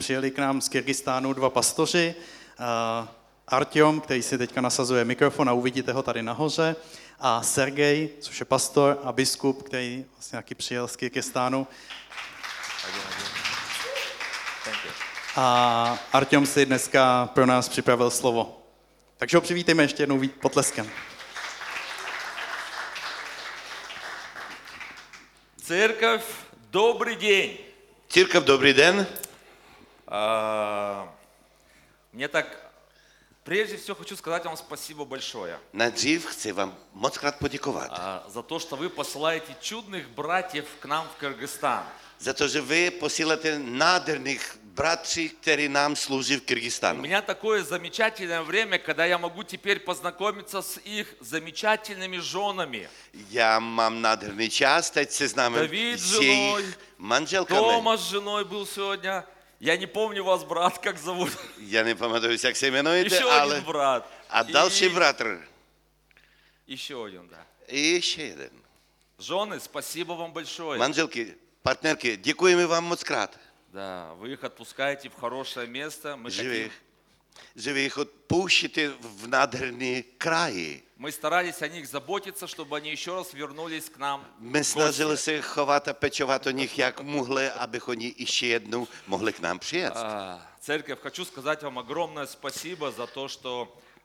přijeli k nám z Kyrgyzstánu dva pastoři, Artyom, který si teďka nasazuje mikrofon a uvidíte ho tady nahoře, a Sergej, což je pastor a biskup, který vlastně taky přijel z Kyrgyzstánu. A Artyom si dneska pro nás připravil slovo. Takže ho přivítejme ještě jednou potleskem. Церковь, добрый день. Церковь, добрый день. Мне так, прежде всего хочу сказать вам спасибо большое. Nejdřív chci vám moc krát poděkovat. За то, что вы посылаете чудных братьев к нам в Кыргызстан. Za to, že vy posíláte nádherných bratří, kteří nám slouží v У Kyrgyzstánu. меня такое замечательное время, когда я могу теперь познакомиться с их замечательными женами. Já mám nádherný čas, teď se známe David s s ženou, jejich manželkami. Тома с женой был сегодня. Я не помню вас, брат, как зовут. Já nepamatuju, jak se jmenujete, Еще ale... один брат. A další bratr. Еще один, да. I ještě jeden. Жены, спасибо вам большое. Manželky, partnerky, děkujeme vám moc krát, Да, вы их отпускаете в хорошее место. že vy jich odpouštíte v nádherný kraji. Мы старались о них заботиться, чтобы они еще раз вернулись к нам. My snažili se chovat a pečovat o nich, jak mohli, abych oni ještě jednou mohli k nám přijet. Церковь, хочу сказать вам огромное спасибо за то, что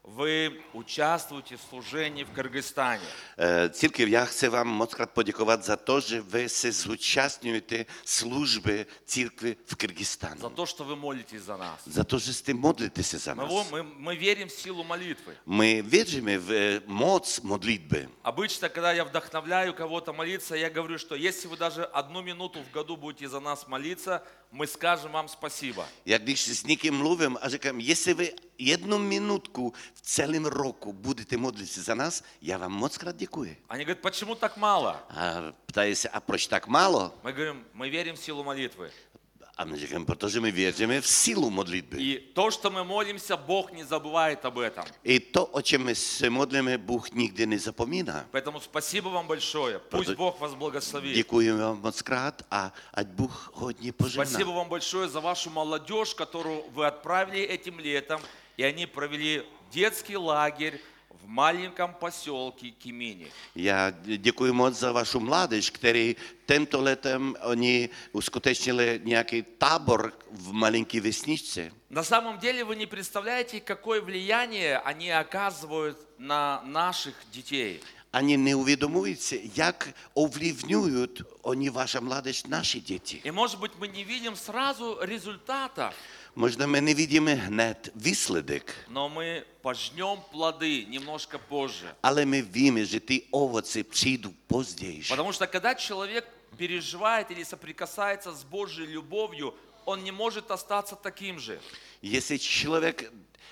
вы участвуете в служении в Кыргызстане. Církev, já chci vám moc krát poděkovat za to, že vy se zúčastňujete služby církve v Kyrgyzstánu. За то, что вы молитесь за нас. Za to, že jste modlíte se za nás. Мы верим в силу молитвы. My věříme v moc modlitby. Обычно, когда я вдохновляю кого-то молиться, я говорю, что если вы даже 1 минуту в году будете за нас молиться, мы скажем вам спасибо. Jak když s někým mluvím a říkám, jestli vy 1 minutku v celém roku budete modlit se za nás, já vám moc krát děkuji. Они говорят, почему так мало? A ptají se, a proč tak málo? Мы говорим, мы верим в силу молитвы. A my říkáme, protože my věříme v sílu modlitby. И то, что мы молимся, Бог не забывает об этом. I to, o čem my se modlíme, Bůh nikdy nezapomíná. Поэтому спасибо вам большое. Пусть Бог вас благословит. Děkuji vám moc krát a ať Bůh hodně Спасибо požehná. вам большое за вашу молодежь, которую вы отправили этим летом, и они провели детский лагерь в маленьком поселке Кимини. Já děkuji moc za vašu mládež, který tento letem oni uskutečnili nějaký tábor v malinké vesničce. На самом деле вы не представляете, какое влияние они оказывают на наших детей. Ani neuvědomují si, jak ovlivňují oni, vaša mládež, naše děti. И может быть мы не видим сразу результата, Možná my nevidíme hned výsledek, но мы пожнем плоды немножко позже. ale my víme, že ty ovoce přijdou později. Потому что когда человек переживает или соприкасается с Божьей любовью, он не может остаться таким же. Jestli člověk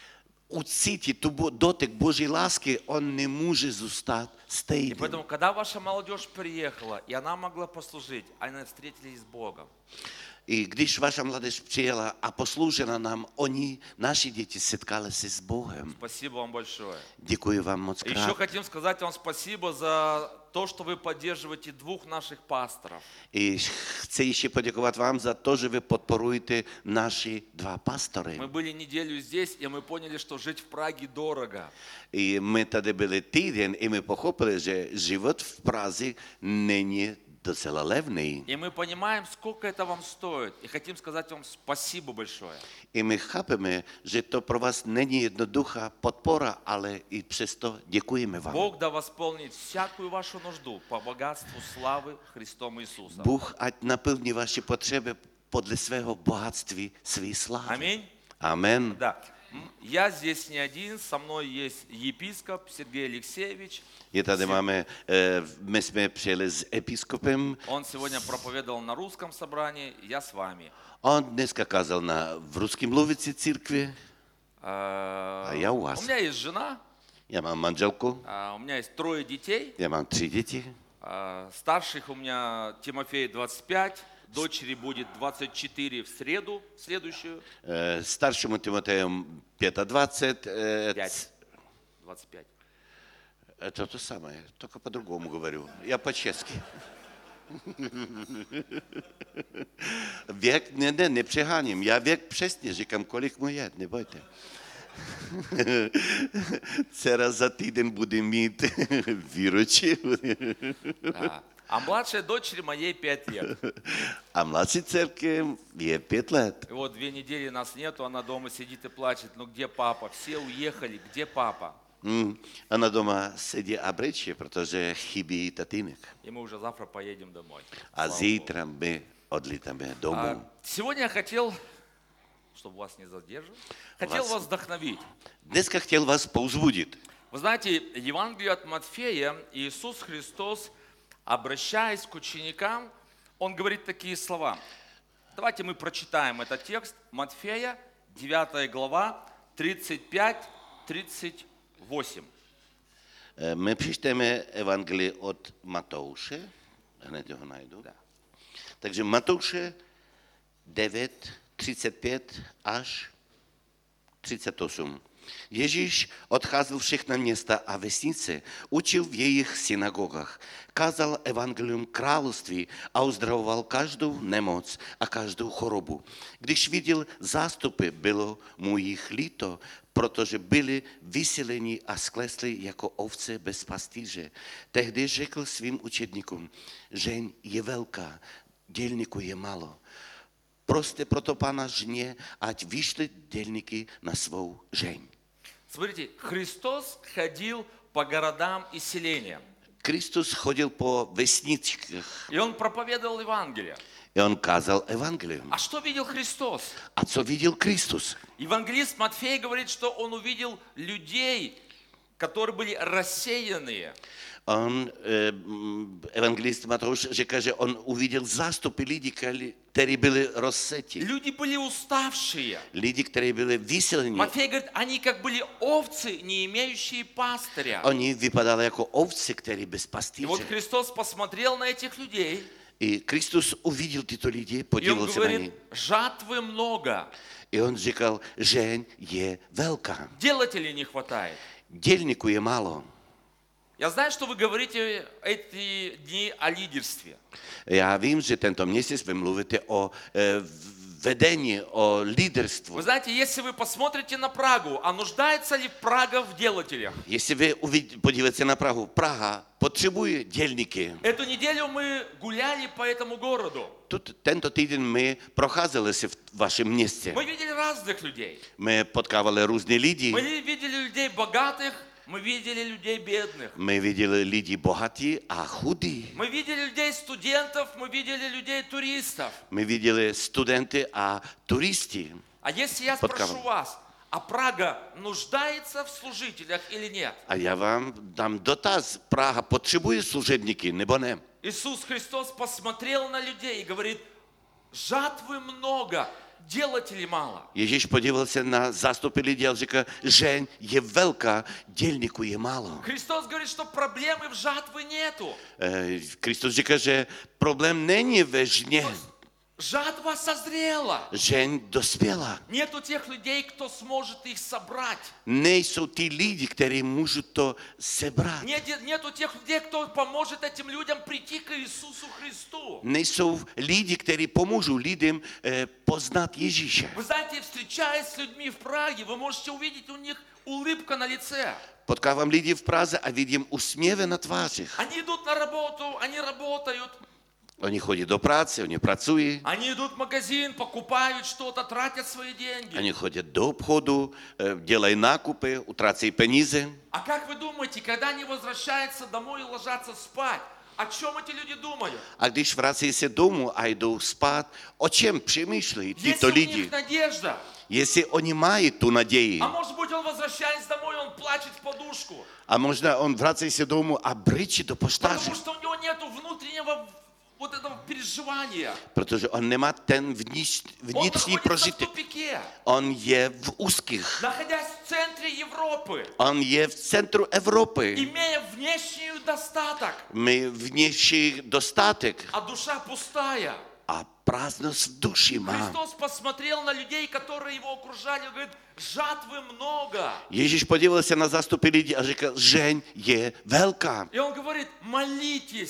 ucítí tu dotek Boží lásky, on nemůže zůstat И stejný. поэтому, когда ваша молодежь приехала, и она могла послужить, они встретились с Богом. I když vaša mládež přijela a posloužila nám, oni, naši děti, setkali se s Bohem. Спасибо вам большое. Děkuji vám moc Еще krát. хотим сказать вам спасибо за то, что вы поддерживаете 2 наших пасторов. I chci ještě poděkovat vám za to, že vy podporujete naši 2 pastory. Мы были неделю здесь, и мы поняли, что жить в Праге дорого. I my tady byli týden i my pochopili, že život v Praze není docela levný. И мы понимаем, сколько это вам стоит. И хотим сказать вам спасибо большое. I my chápeme, že to pro vás není jednoduchá podpora, ale i přesto děkujeme vám. Бог да восполнит всякую вашу нужду по богатству славы Христом Иисусом. Bůh ať naplní vaše potřeby podle svého bohatství, své slávy. Аминь. Amen. Да. Я здесь не один, со мной есть епископ Сергей Алексеевич. Je tady máme, my jsme přijeli s episkopem. Он сегодня проповедовал на русском собрании, я с вами. On dneska kázal v ruském mluvící církvi. A já u vás. У меня есть жена, Já mám manželku, у меня есть 3 детей. já mám 3 děti. Старших у меня Тимофей 25, дочери будет 24 в среду, следующую. Staršímu Timoteju 25. 25. Это то самое, только по-другому говорю. Я по-чешски. Věk, ne přeháním. Já věk přesně říkám, kolik mu je, nebojte. Dcera za týden bude mít výročí. Да. А младшей дочери моей 5 лет. A mladší dcerky je 5 let. И вот 2 недели нас нету, она дома сидит и плачет. Ну где папа? Все уехали, где папа? Ona doma sedí a brečí, protože chybí tatínek. И мы уже завтра поедем домой. A Слава Богу. zítra my odlítáme domů. Сегодня я хотел, чтобы вас не задерживать, хотел вас вдохновить. Dneska chtěl vás povzbudit. Вы знаете, Евангелие от Матфея, Иисус Христос, обращаясь к ученикам, Он говорит такие слова. Давайте мы прочитаем этот текст. Матфея, 9 глава, 35-38. My přečteme Evangelii od Matouše. Hned ho najdu. Да. Takže Matouše 9, 35 až 38. Ježíš odcházel všechna města a vesnice, učil v jejich synagogách, kázal evangelium království a uzdravoval každou nemoc a každou chorobu. Když viděl zástupy, bylo mu jich líto, protože byli vysileni a sklesli jako ovce bez pastýře. Tehdy řekl svým učedníkům, žeň je velká, dělníků je málo. Proste proto Pána žně, ať vyšli dělníky na svou žeň. Смотрите, Христос ходил по городам и селениям. Kristus chodil po vesničkách И Он проповедовал Евангелие. a on kázal evangelium. А что видел Христос? A co viděl Kristus? Евангелист Матфей говорит, что он увидел людей, которые были рассеянные. Evangelist Matouš říká, že on uviděl zástupy lidí, kteří byli rozseti. Люди были уставшие. Lidi, kteří byli vysilení. Матфей говорит, они как были овцы, не имеющие пастыря. Oni vypadali jako ovce, které bez И вот pastýře. Христос посмотрел на этих людей, I Kristus uviděl tyto lidi, и Он podíval se na ně. говорит, жатвы много, I on říkal, žeň je velká. делателей не хватает. Dělníků je málo. Я знаю, что вы говорите эти дни о лидерстве. Já vím, že tento měsíc vy mluvíte o vedení, o líderstvu. Вы знаете, если вы посмотрите на Прагу, а нуждается ли Прага в делателях? Jestli vy podíváte se na Prahu, Praha potřebuje dělníky. Эту неделю мы гуляли по этому городу. Tento týden my procházeli si v vašem městě. Мы видели разных людей. My potkávali různé lidi. Мы видели людей богатых, мы видели людей бедных. My viděli lidi bohatí a chudí. Мы видели людей студентов, мы видели людей туристов. My viděli studenty a turisty. А если я Подкаван. спрошу вас, а Прага нуждается в служителях или нет? A já vám dám dotaz, Praha potřebuje služebníky nebo ne? Иисус Христос посмотрел на людей и говорит, жатвы много, делателей мало. Ježíš podíval se na zástupy lidí a říká, žeň je velká, dělníků je málo. Христос говорит, что проблемы в жатве нету. Kristus říká, že problém není ve žně. Жатва созрела. Žeň dospěla. Нету тех людей, кто сможет их собрать. Nejsou ty lidi, kteří můžou to sebrat. Нету тех людей, кто поможет этим людям прийти к Иисусу Христу. Nejsou lidi, kteří pomůžou lidem poznat Ježíše. Вы знаете, встречаясь с людьми в Праге, вы можете увидеть у них улыбка на лице. Potkávám lidi v Praze a vidím úsměvy na tvářích. Они идут на работу, они работают. Oni chodí do práce, oni pracují, Они идут в магазин, покупают что-то, tratят свои деньги. oni chodí do obchodu, dělají nákupy, utrácejí peníze. А как вы думаете, когда они возвращаются домой и ложатся спать, о чем эти люди думают? A když vrací se domů a jdou spát, o čem přemýšlejí tyto Если у lidi? них надежда, Jestli oni mají tu naději. а может быть он возвращаясь домой, он плачет в подушку, A možná on vrací se domů a brečí do poštáře, потому что у него нету внутреннего вот этого переживания. protože on nemá ten Он vnitřní находится в prožitek. тупике, On je v úzkých. находясь в центре Европы, On je v centru Evropy. имея внешний достаток, My vnější dostatek а душа пустая. a prázdnost v duši má. Христос посмотрел на людей, которые его окружали, и говорит, жатвы много. Ježíš podíval se na zástupy lidí a říkal, žeň je velká. И он говорит, молитесь.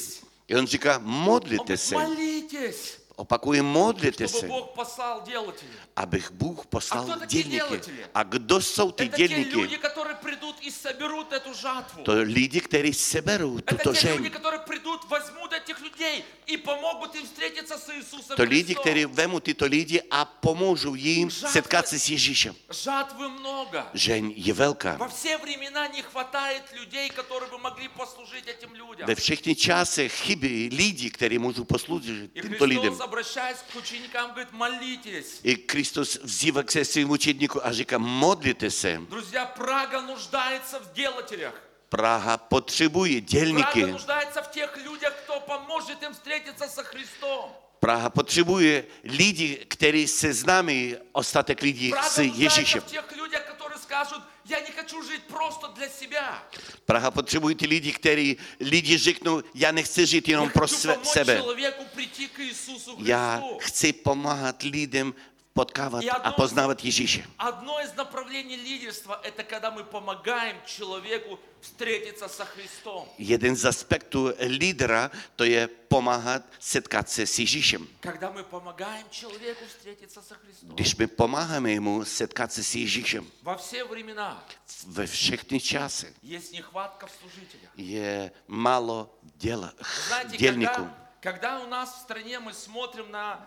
И он říká, Он modlite говорит, se. молитесь, Opakuje, modlite чтобы se, Бог послал делателей. abych Bůh poslal кто такие dělníky. dělatelé? A kdo jsou ty Это те люди, dělníky? которые придут и соберут эту жатву. To lidi, kteří seberou Это tuto те люди, žeň. которые придут, возьмут этих людей и помогут им встретиться с Иисусом To lidi, Христом. kteří vemu tyto lidi a pomůžou jim setkat se s Ježíšem. Жатвы много. Žeň je velká. Во все времена не хватает людей, которые бы могли послужить этим людям. Ve všechny časech chybí lidi, kteří můžou posloužit И těmto lidem. Христос, обращаясь к ученикам, говорит, молитесь. I Kristus vzývá k svým učedníkům a říká, modlite se. Друзья, Прага нуждается в делателях. Praha potřebuje Прага dělníky. нуждается в тех людях, кто поможет им встретиться со Христом. Praha potřebuje lidi, kteří se známí, ostatek lidí Прага s нуждается Ježíšem. в тех людях, которые скажут, я не хочу жить просто для себя. Praha potřebuje ty lidi, kteří lidi řeknou, já nechci žít Я jenom pro хочу помочь sebe. человеku прийти к Иисусу Já Христу. chci pomáhat lidem potkávat a poznávat Ježíše. Одно из направлений лидерства – это когда мы помогаем человеку встретиться со Христом. Jeden z aspektů lídra, to je pomáhat setkat se s Ježíšem. Когда мы помогаем человеку встретиться со Христом. Když my pomáháme mu setkat se s Ježíšem, Во все времена ve všechny časy есть nechvátka в служителях. je málo Знаете, dělníků. когда у нас в стране мы смотрим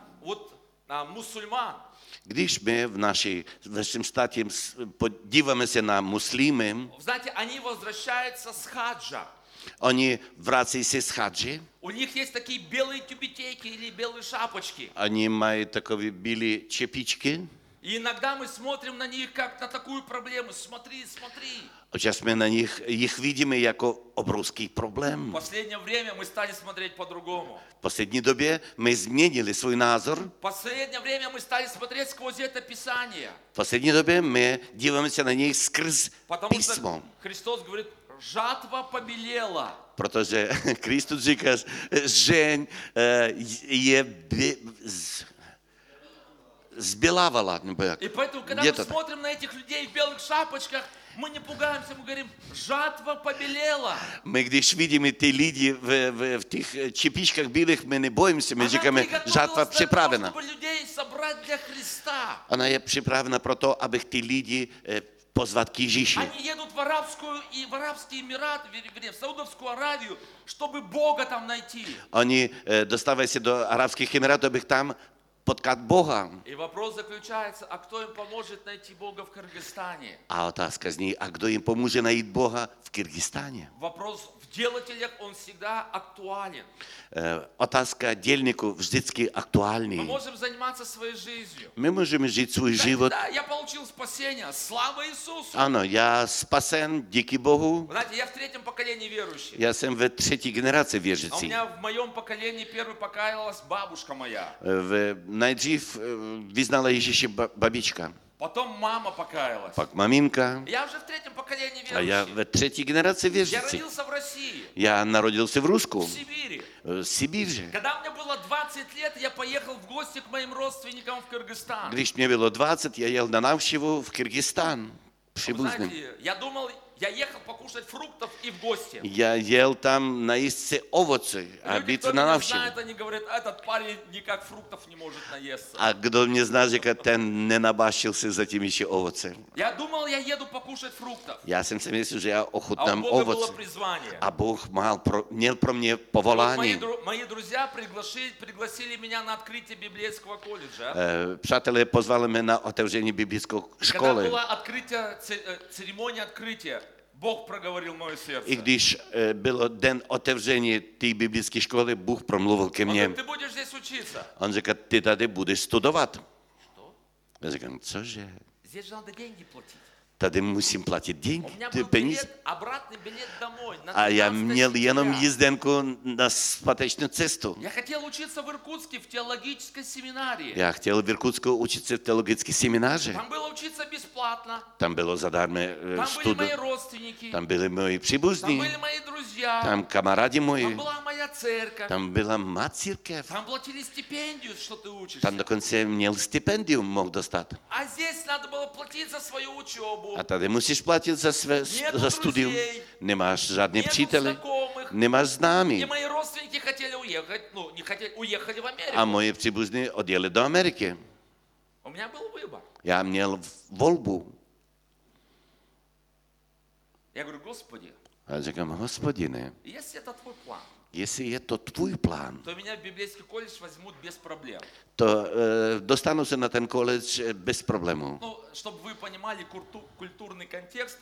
на мусульман, Když my v našem státě podíváme se na muslimy, знаете, они возвращаются с хаджа. oni vrací se z hadži, У них есть такие белые тюбетейки или белые шапочки. oni mají takové bílé čepičky. И иногда мы смотрим на них как на такую проблему. Смотри, смотри. Občas my na jich vidíme jako obrovský В problém. последнее время мы стали смотреть по-другому. V poslední době my změnili svůj názor. В последнее время мы стали смотреть сквозь это Писание. V poslední době my díváme se na něj skrz Потому písmo. что Христос говорит, жатва побелела. Protože Kristus říká, žeň je zbělávala. Nebo jak? И поэтому, когда Где мы то так? смотрим на этих людей в белых шапочках, мы не пугаемся, мы говорим, жатва побелела. My když vidíme ty lidi v těch čepičkách bílých, my nebojíme se, my Она říkáme, приготовилась žátva для того, připravena. чтобы людей собрать для Христа. Ona je připravena proto, abych ty lidi pozvat k Ježíši. Они едут в Арабский Эмират, вернее, в Саудовскую Аравию, чтобы Бога там найти. Oni dostávají se do Arabských Emirátů, abych tam potkat Boha. И вопрос заключается, а кто им поможет найти Бога в Кыргызстане? A otázka zní, a kdo jim pomůže najít Boha v Kyrgyzstáně? Вопрос в делателях, он всегда актуален. Otázka dělníků vždycky Мы aktuální. можем заниматься своей жизнью. My můžeme žít svůj Да, život. да, я получил спасение, слава Иисусу. Ano, já spasen, díky Bohu. Знаете, я в третьем поколении верующий. Já jsem ve třetí generaci А у věřící. меня в моем поколении первой покаялась бабушка моя. Nejdřív vyznala Ježíše babička, Потом мама покаялась. pak maminka Я уже в третьем поколении a já верующий. ve třetí generaci Я věřící. родился в России, Já narodil se v в Rusku, Сибири. v Sibíře. Когда мне было 20 лет, я поехал в гости к моим родственникам в Кыргызстан. Když mě bylo 20, já jel na návštěvu v Kyrgyzstán, příbuzným. Знаете, я думал, я ехал покушать фруктов и в гости. Já jel tam najíst se ovoce a Люди, být кто na меня návštěvu. знает, они говорят, этот парень никак фруктов не может наесться. A kdo mě zná, říká, ten nenabášil se zatím ještě ovoce. Я думал, я еду покушать фруктов. Já jsem si myslel, že já А у ochutnám Бога было ovoce. призвание. A Bůh měl pro mě Вот povolání. мои друзья пригласили меня на открытие библейского колледжа. Přátelé pozvali mě na otevření biblické Когда školy. была церемония открытия, Бог проговорил в мое сердце. I když byl den otevření té biblické školy, Bůh promluvil ke Он mně. говорит, ты будешь здесь учиться. On říká, ty tady budeš studovat. Что? Já říkám, cože? Здесь же надо деньги платить. Tady musím platit У меня ty был peníze. билет, обратный билет домой. На A já 13 měl jenom сентября. jízdenku na zpátečnou cestu. Я хотел учиться в Иркутске в теологической семинарии. Já chtěl v Irkutsku učit se v teologické semináři. Там было учиться бесплатно. Tam bylo zadarmo Там были studium. мои родственники. Tam byli moji Там příbuzní, были мои друзья. tam kamarádi Там moji, была моя церковь. tam byla má církev. Там платили стипендию, что ты учишься. Tam dokonce měl stipendium, mohl dostat. А здесь надо было платить за свою учебу. A tady musíš platit za studium. Nemáš žádný Нету přítele, знакомых. nemáš И známý. мои родственники хотели уехать, ну, не хотели, уехали в Америку. A moji příbuzní odjeli do Ameriky. У меня был выбор. Já měl volbu. Я говорю, Господи, A říkám, Hospodine, если это твой план, jestli je to tvůj plán, то меня в библейский колледж возьмут без проблем. to dostanu se na ten college bez problémů. Ну, чтобы вы понимали культурный контекст,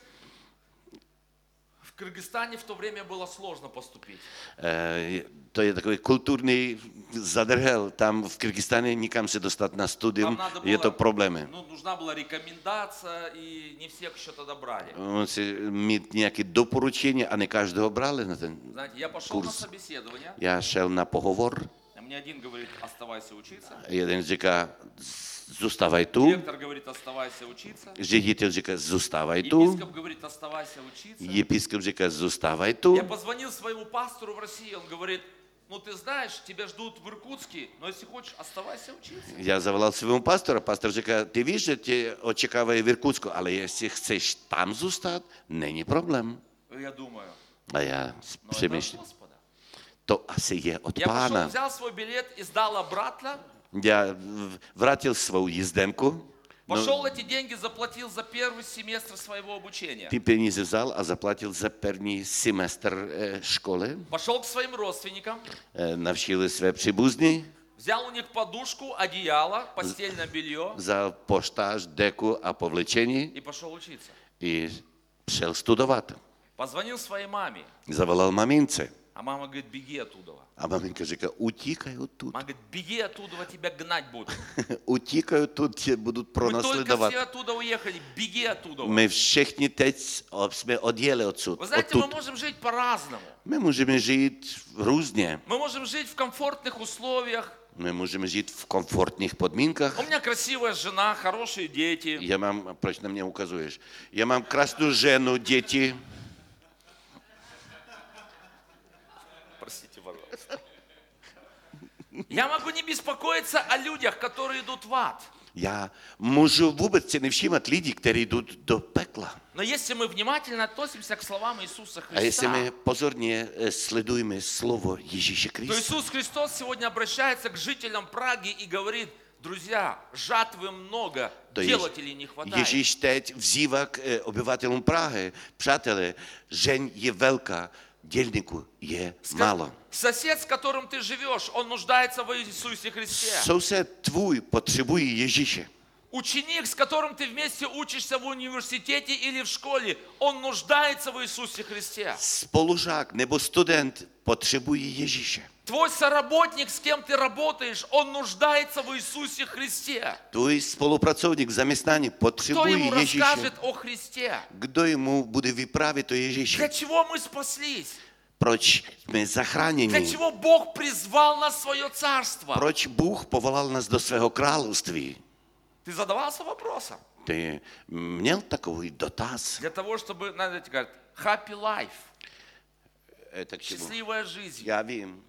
в Кыргызстане в то время было сложно поступить. To je takový kulturní zadrhel. Tam v Kyrgyzstáně nikam se dostat na studium, Там надо je to было, problémy. ну, нужна была рекомендация, и не всех еще тогда брали. Musí mít nějaké doporučení a ne každého brali na ten Знаете, я пошел на курс. собеседование, Já šel na pohovor, а мне один говорит, оставайся учиться, jeden říká, zůstávaj tu, директор говорит, оставайся учиться, ředitel říká, zůstávaj tu, епископ говорит, оставайся учиться. episkop říká, zůstávaj tu. Я позвонил своему пастору в России, он говорит, ну ты знаешь, тебя ждут в Иркутске, но если хочешь, оставайся учиться. Já zavolal svému pastora, pastor říká, ty víš, že tě očekávají v Irkutsku, ale jestli chceš tam zůstat, není problém. Я думаю, A já ну это от přemýšlím, Господа. to asi je od Я пошел, pána. взял свой билет и сдал обратно, Já vrátil svou jízdenku, пошел эти деньги, заплатил за первый семестр своего обучения. ty peníze vzal a zaplatil za první semestr školy, Пошел к своим родственникам, navštívil své příbuzní, взял у них подушку, одеяло, постельное белье vzal poštář, deku a povlečení и пошел учиться. i šel studovat. Poзвонил своей маме, Zavolal mamince а мама говорит, беги оттуда. a maminka říká, utíkaj odtud. Мама говорит, беги оттуда, тебя гнать будут. Utíkaj odtud, tě budu Мы только pronásledovat. все оттуда уехали, беги оттуда. My všichni teď jsme odjeli odsud. Вы знаете, мы Odtud. можем жить по-разному. My můžeme žít různě. Мы можем жить в комфортных условиях. My můžeme žít v komfortních podmínkách. У меня красивая жена, хорошие дети. Já mám, proč na mě ukazuješ? Já mám krásnou ženu, děti. Простите, пожалуйста. Я могу не беспокоиться о людях, которые идут в ад. Já můžu vůbec si nevšímat lidí, kteří jdou do pekla. Но если мы внимательно относимся к словам Иисуса A jestli Христа, my pozorně sledujeme slovo Ježíše то Krista, Иисус Христос сегодня обращается к жителям Праги и говорит, друзья, жатвы много, to делателей не хватает. Ježíš teď vzývá k obyvatelům Prahy. Přátelé, žeň je velká, dělníků je málo. Сосед, с которым ты живешь, он нуждается в Иисусе Христе. Soused tvůj potřebuje Ježíše. Ученик, с которым ты вместе учишься в университете или в школе, он нуждается в Иисусе Христе. Spolužák nebo student potřebuje Ježíše. Твой соработник, с кем ты работаешь, он нуждается в Иисусе Христе. Tvůj spolupracovník v zaměstnání Кто potřebuje ему Ježíše. расскажет о Христе? Kdo mu bude vyprávět o Для Ježíši? чего мы спаслись? Proč jsme Для zachráněni? чего Бог призвал нас в свое царство? Proč Bůh povolal nás do svého království? Ты задавался вопросом? Ty měl takový dotaz? Для того, чтобы, знаете, говорят, happy life, Tak čemu? счастливая жизнь. Já vím.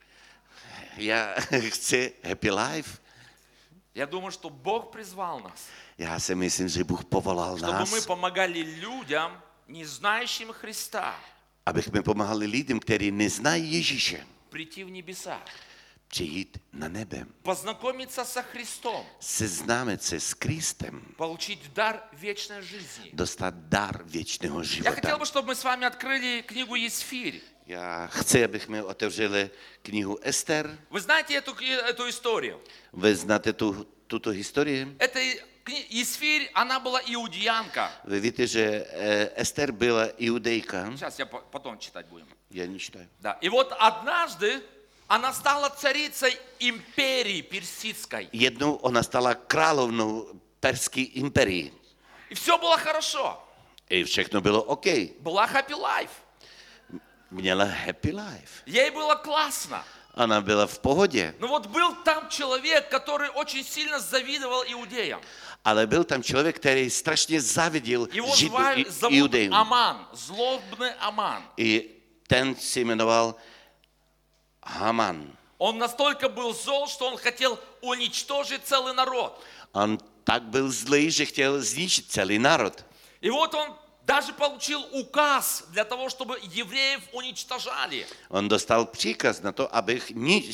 Já chci happy life. Я думаю, что Бог призвал нас, Já si myslím, že Bůh povolal чтобы мы nás, помогали людям, не знающим Христа, abychom pomáhali lidem, kteří neznají Ježíše, прийти в небеса, přijít na nebe, познакомиться со Христом, seznámit se s Kristem, получить дар вечной жизни. dostat dar věčného Я хотел života. бы, чтобы мы с вами открыли книгу Есфирь. Já chci, abychom otevřeli knihu Ester. Вы знаете эту историю? Vy znáte tuto historii? Есфирь, она была иудеянка. Vy víte, že Ester byla Iudejka. Сейчас я потом читать будем. Já не читаю. Да. И вот однажды она стала царицей империи персидской. Jednou ona stala královnou perské imperii. И все было хорошо. I všechno bylo OK. Была happy life. Měla happy life. Ей было классно. Ona byla v pohodě. Но вот был там человек, который очень сильно завидовал иудеям. Ale byl tam člověk, který strašně záviděl Его Židům, зовут Iudejům. Аман, злобный Аман. I ten se jmenoval Haman. Он настолько был зол, что он хотел уничтожить целый народ. On tak byl zlý, že chtěl zničit celý národ. И вот он даже получил указ для того, чтобы евреев уничтожали. On dostal příkaz na to, abych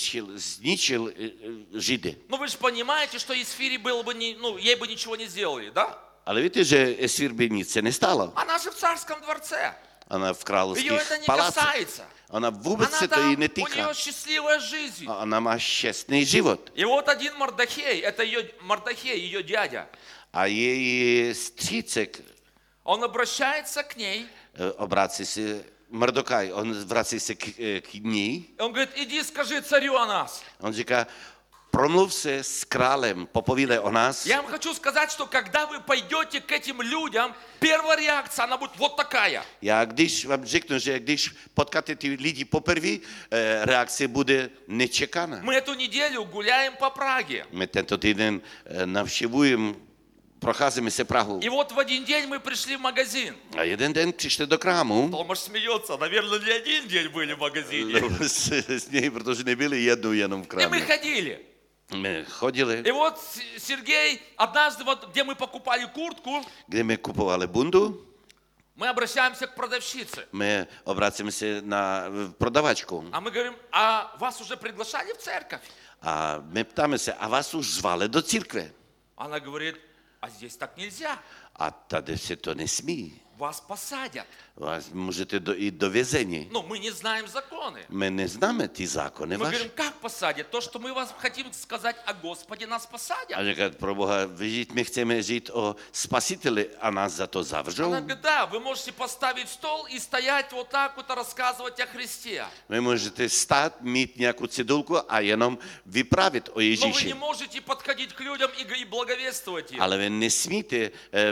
zničil Židy. Ну вы же понимаете, что Есфире было бы ей бы ничего не сделали, да? Ale víte, že Esfír by nic se nestalo. Она же в царском дворце. Ona v Ее královských это не palácích. касается. Ona vůbec Она se to jí там, у netýká. нее счастливая жизнь. A ona má šťastný život. И вот один Мордохей, это ее Мордохей, ее дядя, A její střícek он обращается к ней, obrácí se, Mordokaj, on vrací se k ní. и он говорит, иди скажи царю о нас. On říká, promluv se s králem, popovídej o nás. Я вам хочу сказать, что когда вы пойдете к этим людям, первая реакция, она будет вот такая. Já když vám řeknu, že když potkáte ty lidi poprvé, reakce bude nečekaná. Мы эту неделю гуляем по Праге. My tento týden navštěvujeme, procházíme se Prahou. И вот в один день мы пришли в магазин. A jeden den přišli do krámu. Томаш смеется, наверное, не один день были в магазине. S něj, protože nebyli jednou jenom v И krámě. мы ходили. My chodili, И вот Сергей, однажды, вот, где мы покупали куртку, kde my kupovali bundu, мы обращаемся к продавщице. my obracíme se na prodavačku. А мы говорим, а вас уже приглашали в церковь? A my ptáme se, a vás už zvali do církve? Она говорит, а здесь так нельзя. A tady se to nesmí. Вас посадят. Vás můžete jít do vězení. Но мы не знаем законы. My neznáme ty zákony Мы vaše. говорим, как посадят? То, что мы вас хотим сказать о Господе, нас посадят. A říkat, pro Boha, my chceme žít o spasiteli a nás za to zavřou. Она говорит, да, вы можете поставить стол и стоять вот так вот и рассказывать о Христе. Vy můžete stát, mít nějakou cedulku a jenom vyprávět o Но вы не Ježíši. можете подходить к людям и благовествовать им. Ale vy nesmíte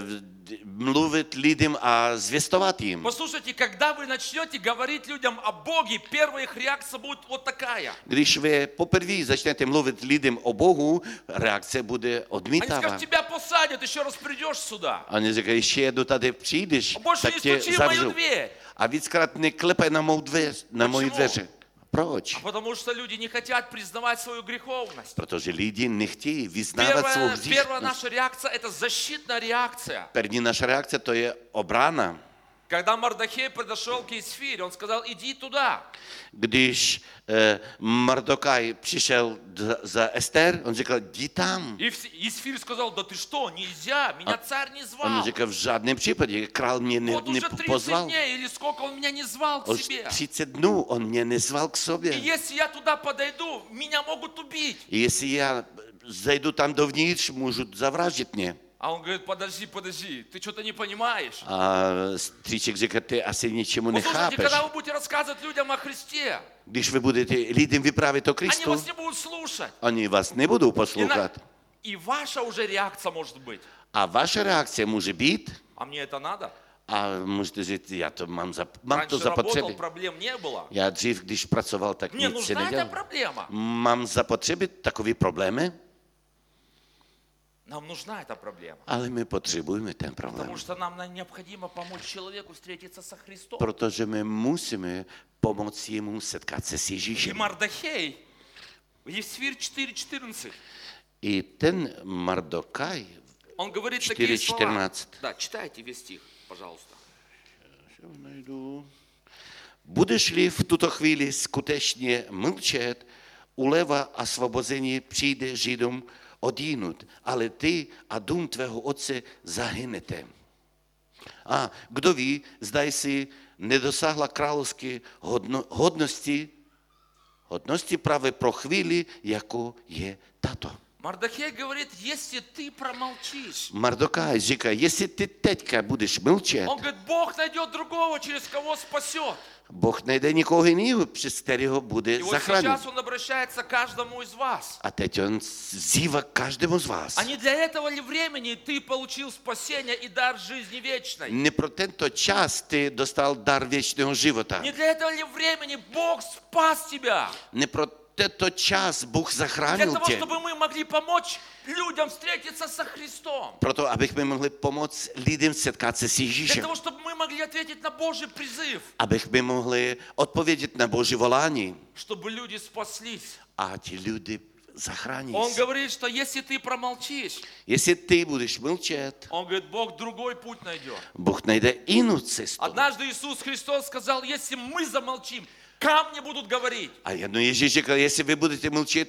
mluvit lidem a zvěstovat jim. Послушайте, когда вы начнете говорить людям о Боге, первая их реакция будет вот такая. Když vy poprvé začnete mluvit lidem o Bohu, reakce bude Они odmítavá. скажут, тебя посадят, еще раз придешь сюда. A oni říkají, ještě jednou tady přijdeš, Больше tak не tě стучи в мою zavřu. дверь. A víckrát neklepej na mou dveř, na moji Почему? dveře. Proč? Потому что люди не хотят признавать свою греховность. Protože lidi nechtějí vyznávat svou Первая hříšnost. наша реакция – это защитная реакция. První naše reakce to je obrana. Когда Мордохей подошел к Есфире, он сказал, иди туда. Když Mordokaj přišel za Ester, on říkal, jdi tam. И Есфирь сказал, да ты что, нельзя, меня царь не On звал. říkal, v žádném případě, král mě Вот уже 30 nepozval. дней или сколько он меня не звал к Už себе. 30 dnů on mě nezval k И sobě. если я туда подойду, меня могут убить. Jestli já zajdu tam dovnitř, můžu zavraždit mě. А он говорит, подожди, ты что-то не понимаешь. A strýček říká, ty asi něčemu Послушайте, nechápeš. когда вы будете рассказывать людям о Христе, Když vy budete lidem vyprávět o они Kristu, вас не будут слушать. oni vás nebudou И, poslouchat. и ваша уже реакция может быть. A vaše reakce může být, А мне это надо? a můžete říct, já to mám to Раньше работал, zapotřebí. проблем не было. Já dřív, když pracoval, tak Мне nic si нужна эта nedělal. проблема. Mám zapotřebí takové problémy, Нам нужна эта проблема. ale my potřebujeme ten Потому problém. что нам необходимо помочь человеку встретиться со Христом. Protože my musíme pomoci jemu setkat se s И Ježíšem. Мардохей, Есфирь 4:14, I ten Mardokaj, он говорит такие слова. 4:14. Да, читайте весь стих, пожалуйста. Budeš-li v tuto chvíli skutečně mlčet, uleva a svobození přijde Židům odjinud, ale ty a dům tvého otce zahynete. A kdo ví, zdaj si nedosáhla královské hodnosti právě pro chvíli, jako je tato. Мардохей говорит, если ты промолчишь, Mardokaj říká, jestli ty teďka budeš mlčet, он говорит, Бог найдет другого, через кого спасет. Bůh najde někoho jiného, přes kterého bude И вот zachránit. сейчас он обращается к каждому из вас. A teď on zývá každému z vás. А не для этого ли времени ты получил спасение и дар жизни вечной? Ne pro tento čas ty dostal dar věčného života. Не для этого ли времени Бог спас тебя? Ne pro tento čas Bůh Для zachránil того, tě. чтобы мы могли помочь людям встретиться со Христом. Proto, abychom mohli pomoct lidem setkat se s Для Ježíšem. того, чтобы мы могли ответить на Божий призыв. Abychom mohli odpovědět na Boží volání. Чтобы люди спаслись. A ti lidi zachrání Он se. говорит, что если ты промолчишь, Jestli ty budeš mlčet, он говорит, Бог другой путь найдет. Bůh najde jinou cestu. Однажды Иисус Христос сказал, если мы замолчим, камни будут говорить. A jedno Ježíš řekl, jestli vy budete mlčet,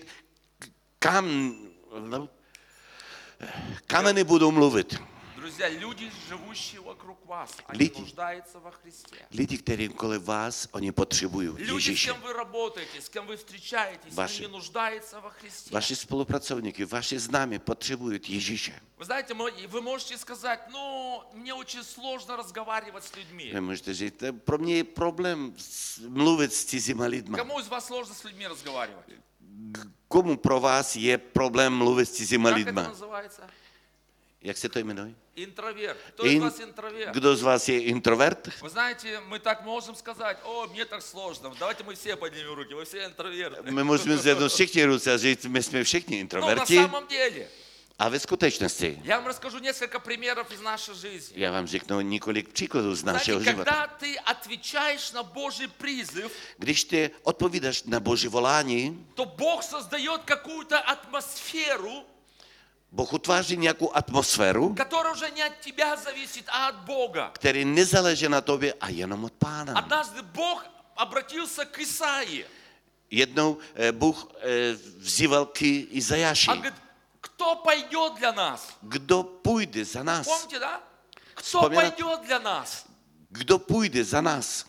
kameny budou mluvit. Друзья, люди, живущие вокруг вас, они Люди. нуждаются во Христе. Lidi, kteří kolem vás, oni potřebují Люди, с Ježíše. кем вы работаете, с кем вы встречаетесь, Ваши. они нуждаются во Христе. Vaši spolupracovníky, vaši známí potřebují Ježíše. Вы знаете, вы можете сказать, ну, мне очень сложно разговаривать с людьми. Vy můžete říct, pro mě je problém mluvit s cizíma lidma. Кому из вас сложно с людьми разговаривать? Komu pro vás je problém mluvit s cizíma Как это lidma? называется? Jak se to jmenuje? Интроверт. Кто из вас интроверт? Kdo z vás je introvert? Вы знаете, мы так можем сказать, о, мне так сложно. Давайте мы все поднимем руки, вы все интроверты. My můžeme zvednout všichni ruce a říct, my jsme všichni Ну, на introverti. самом деле, A ve skutečnosti, я вам расскажу несколько примеров из нашей жизни. já vám řeknu několik příkladů z našeho Знаете, života. когда ты отвечаешь на Божий призыв, Když ty odpovídáš na Boží volání, то Бог создает какую-то атмосферу, Bůh utváří nějakou atmosféru, которая уже не от тебя зависит, а от Бога. který nezáleží na tobě a jenom od Pána. Однажды Бог обратился к Исаии. Jednou Bůh vzýval k Izajáši. Он говорит, кто пойдет для нас? Kdo půjde za nás? Помните, да? Кто Вспоминать. пойдет для нас? Kdo půjde za nás?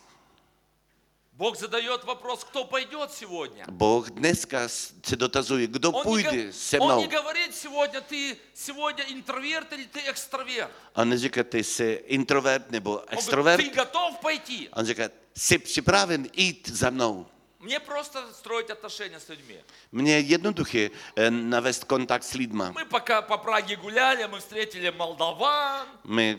Бог задает вопрос, кто пойдет сегодня? Bůh dneska se dotazuje, kdo půjde se Он mnou. не говорит сегодня, ты сегодня интроверт или ты экстраверт. On neříká, ty jsi introvert nebo Он говорит, extrovert. ты готов пойти? On říká, jsi připraven jít za mnou. Мне просто строить отношения с людьми. Mně je jednoduché navést kontakt s lidma. Мы пока по Праге гуляли, мы встретили молдаван, My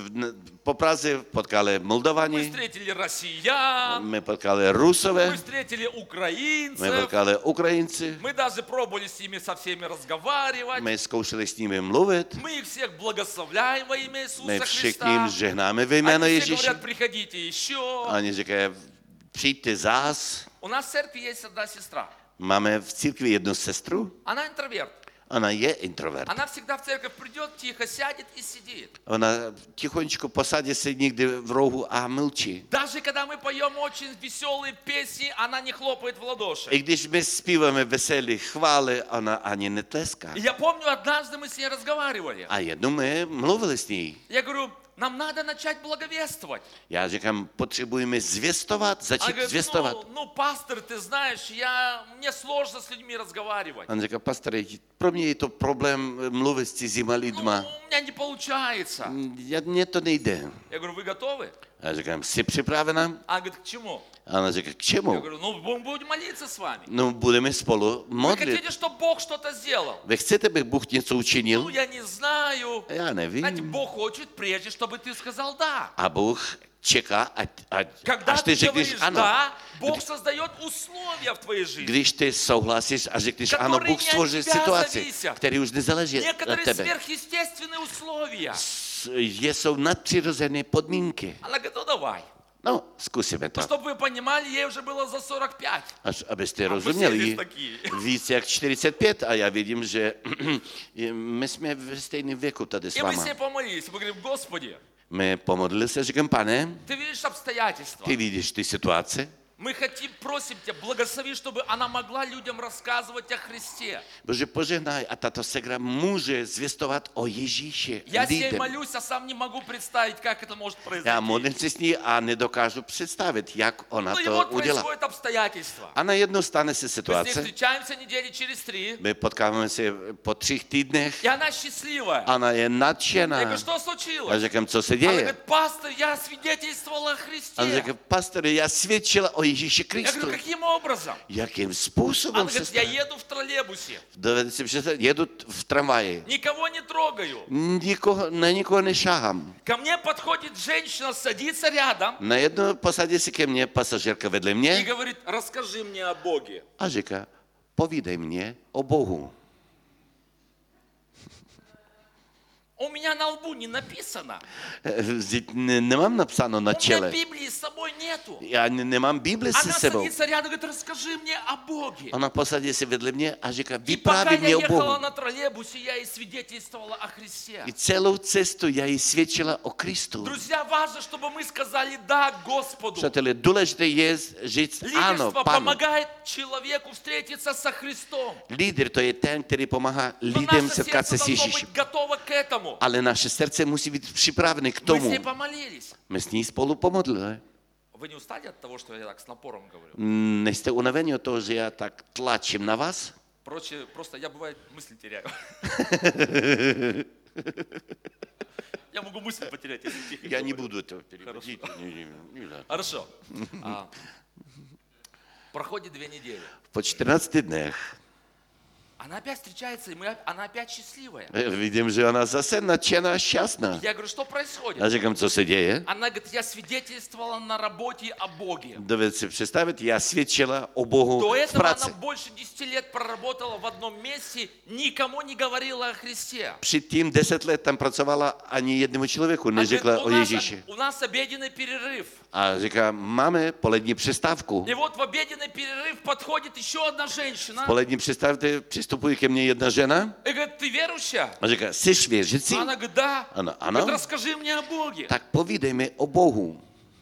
po Praze potkali мы Moldavani, встретили россиян, my potkali мы Rusové, встретили my украинцев, potkali Ukrajinci, мы даже пробовали с ними со всеми разговаривать. my zkoušeli s nimi mluvit, Мы их всех благословляем во имя my Иисуса všichni jim Христа. žehnáme ve jméno Они все Ježíše. говорят, приходите еще. Oni říkají, přijďte zás. У нас в церкви есть одна сестра. Máme v církvi jednu sestru, Она интроверт. ona je introvert. Она всегда в церковь придет, тихо сядет и сидит. Ona tichoničko posadí se někdy v rohu a mlčí. Даже когда мы поем очень веселые песни, она не хлопает в ладоши. I když my zpíváme veselé chvály, ona ani netleská. И я помню, однажды мы с ней разговаривали. A jednou my mluvili s ní. Я говорю, нам надо начать благовествовать. Já říkám, potřebujeme zvěstovat, Она začít говорит, zvěstovat. ну, пастор, ты знаешь, мне сложно с людьми разговаривать. On říká, pastore, pro mě je to problém mluvit s cizíma Ну, lidma. у меня не получается. Mně to nejde. Я говорю, вы готовы? Já říkám, jsi připravena? Она говорит, к чему? A ona říká, k Я čemu? говорю, ну, мы будем молиться с вами. No, budeme spolu Вы modlit. хотите, чтобы Бог что-то сделал? Vy chcete, aby Bůh něco Ну, učinil? я не знаю. Já Знаете, nevím. Бог хочет прежде, чтобы ты сказал «да». A Bůh čeká, Когда až ты ty řekneš говоришь ano. «да», Бог создает условия в твоей жизни. Když ty souhlasíš a řekneš Которые ano, Bůh не stvoří от тебя situaci, зависят. které už nezáleží od Некоторые tebe. сверхъестественные условия. Jsou nadpřirozené podmínky. Она говорит, ну давай. No, zkusíme to. Ну, чтобы вы понимали, ей уже было за 45. Až abyste A rozuměli, poslední taky. víc jak 45 a já vidím, že my jsme ve stejném věku tady s И мы с váma. ней помолились. Мы говорим, Господи, My pomodlili se, říkám, pane, ты видишь обстоятельства. ty vidíš ty situace, Мы хотим, просим тебя, благослови, чтобы она могла людям рассказывать о Христе. Bože, požehnaj a tato segra může zvěstovat o Ježíši Я с ней lidem. молюсь, а сам не могу представить, как это может Já произойти. modlím se s ní a nedokážu představit, jak ona Ну и to вот udělá. происходит обстоятельства. A najednou stane se Мы с ней situace, встречаемся недели через 3, my potkáváme se po 3 týdnech, и она счастливая. ona je Я nadšená. говорю, что Já случилось? říkám, co se Она děje? говорит, пастор, я свидетельствовала о A on Христе. říká, pastore, já svědčila o Ježíši Я Kristu. говорю, каким образом? Jakým Она způsobem se говорит, я stane? еду в троллейбусе, Dovedete si představit, jedu v tramvaji, никого не трогаю. na nikoho nešáhám. Ко мне подходит женщина, садится рядом Najednou posadí si ke mně pasažérka vedle и mě говорит, расскажи мне о Боге. a říká, povídej mě o Bohu. У меня на лбу не написано. Vždyť nemám napsáno na У меня čele. Библии с собой нету. Já nemám Bibli se Она sebou. садится рядом и говорит, расскажи мне о Боге. Ona posadí se vedle mě a říká, И пока vypráví я mě o ехала Bohu. на троллейбусе, я ей свидетельствовала о Христе. I celou cestu já jí svědčila o Kristu. Друзья, важно, чтобы мы сказали «да» Господу. Přátelé, důležité je říct ano, Лидерство Panu. помогает человеку встретиться со Христом. Lídr to je ten, který pomáhá Но lidem наше setkat se сердце s должно Ježíšem. быть готово к этому. Ale naše srdce musí být připraveny k Мы с tomu. ней помолились. My s ní spolu pomodlili. Вы не устали от того, что я так с напором говорю? Nejste unaveni od toho, že já tak tlačím na vás? Просто я, бывает, мысли теряю. Я могу мысли потерять, если тихо Já говорю. nebudu to переводить. Хорошо. Проходит 2 недели. Po 14 dnech Она опять встречается, и она опять счастливая. vidím, že ona zase nadšená a šťastná. Я говорю, что происходит? Já říkám, co se děje? Она говорит, я свидетельствовала на работе о Боге. Dovedete si představit, já svědčila o Bohu До v этого práci. она больше 10 лет проработала в одном месте, никому не говорила о Христе. Předtím 10 let tam pracovala, ani jednomu člověku Она neřekla говорит, o Ježíši. у нас обеденный перерыв. A říká, máme polední přestávku. И вот в обеденный перерыв подходит еще одна женщина. Polední přestávce přistupuje ke mně jedna žena И говорит, ты верующая? a říká, jsi věřící? Она говорит, да. Ano, Говорит, ano. расскажи мне о Боге. Tak povídej mi o Bohu.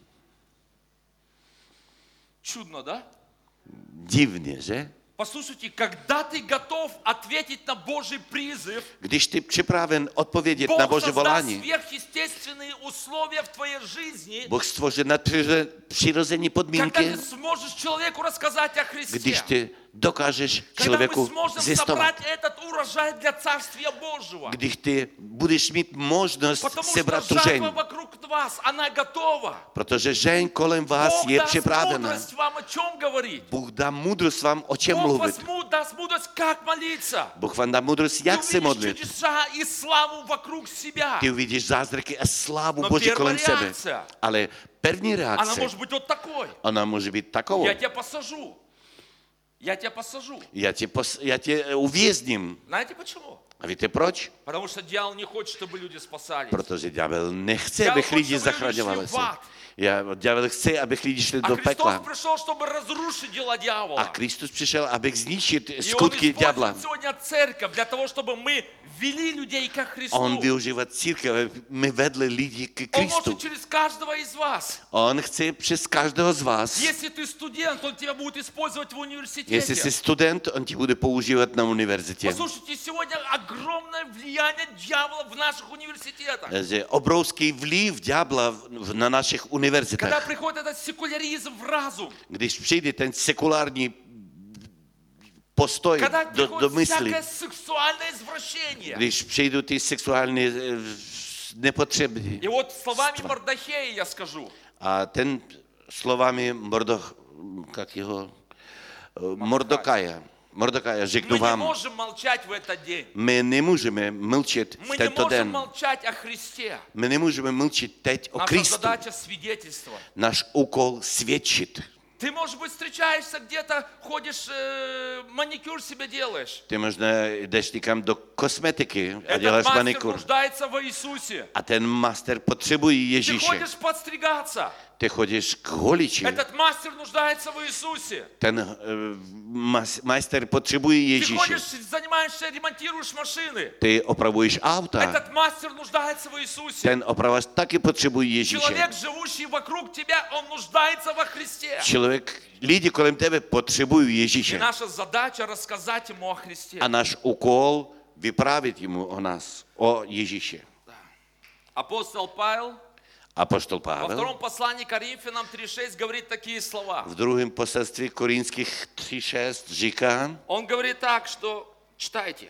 Чудно, да? Divně, že? Послушайте, когда ты готов ответить на Божий призыв, Když ty připraven odpovědět na Бог Bože создаст volání, сверхъестественные условия в твоей жизни, Bůh stvořil nadpřirozené когда podmínky, ты сможешь человеку рассказать о Христе. když ty dokážeš Когда мы člověku сможем zjistovat. собрать этот урожай для Царствия Божьего. Když ty budeš mít možnost Потому что sebrat tu žeň, жатва вокруг вас, она готова. protože žeň kolem vás Бог je даст připravena. мудрость вам о чем говорить. Bůh dá moudrost vám o čem Бог mluvit. даст мудрость, как молиться. Bůh vám dá moudrost, Ты jak se увидишь modlit. чудеса и славу вокруг себя. Ty uvidíš zázraky a slávu No Boží первая kolem sebe. реакция. Ale první Она reakce, может быть вот такой. ona může být takovou. Я тебя посажу. Я тебя посажу. Já tě uvězním. Знаете почему? A víte proč? Потому что дьявол не хочет, чтобы люди spasались. Protože ďábel nechce, Ďábel abych lidi chce, aby lidi zachraňovali šli se. v ад. Ďábel chce, abych lidi šli А do Христос pekla. пришел, чтобы разрушить дела A дьявола. Kristus přišel, abych zničit И Он skutky ďábla. использует сегодня церковь для того, чтобы мы вели людей ко Христу. On využívá církev, aby my vedli lidi k Он Kristu. может через каждого из вас. On chce přes každého z vás. Если ты студент, он тебя будет использовать в Jestli jsi университете. student, on ti bude používat na univerzitě. Послушайте, сегодня огромное влияние дьявола в наших университетах. Že obrovský vliv ďábla na našich Когда univerzitách. приходит этот секуляризм в разум, Když přijde ten sekulární postoj когда do приходит mysli, всякое сексуальное извращение. když přijdou ty sexuální nepotřeby. И вот словами Мордохея я скажу. A ten slovami Mordokaja řeknu Мы не vám, можем молчать в этот день. my nemůžeme mlčet v Мы не tento можем den. молчать о Христе. My nemůžeme mlčet teď o Наша Kristu. задача свидетельствовать. Náš úkol svědčit. Ты, может быть, встречаешься где-то, ходишь, маникюр себе делаешь. Ty možná jdeš někam do kosmetiky a Этот děláš мастер manikur. нуждается в Иисусе. A ten master potřebuje Ты Ježíše. ходишь подстригаться. Ty chodíš k holiči. Этот мастер нуждается в Иисусе. Ten majster potřebuje Ты Ježíše. ходишь, занимаешься, ремонтируешь машины. Ty opravuješ auta. Этот мастер нуждается в Иисусе. Ten opravač taky potřebuje Ježíše. Человек, живущий вокруг тебя, он нуждается во Христе. Lidi kolem tebe potřebují И Ježíše. наша задача рассказать ему о Христе. A náš úkol vyprávět jemu o nás, o Ježíši. Апостол Павел Apoštol во Pavel втором послании к Коринфянам 3.6 говорит такие слова. v druhém poselství Korinských 3.6 říká, Он говорит так, что читайте.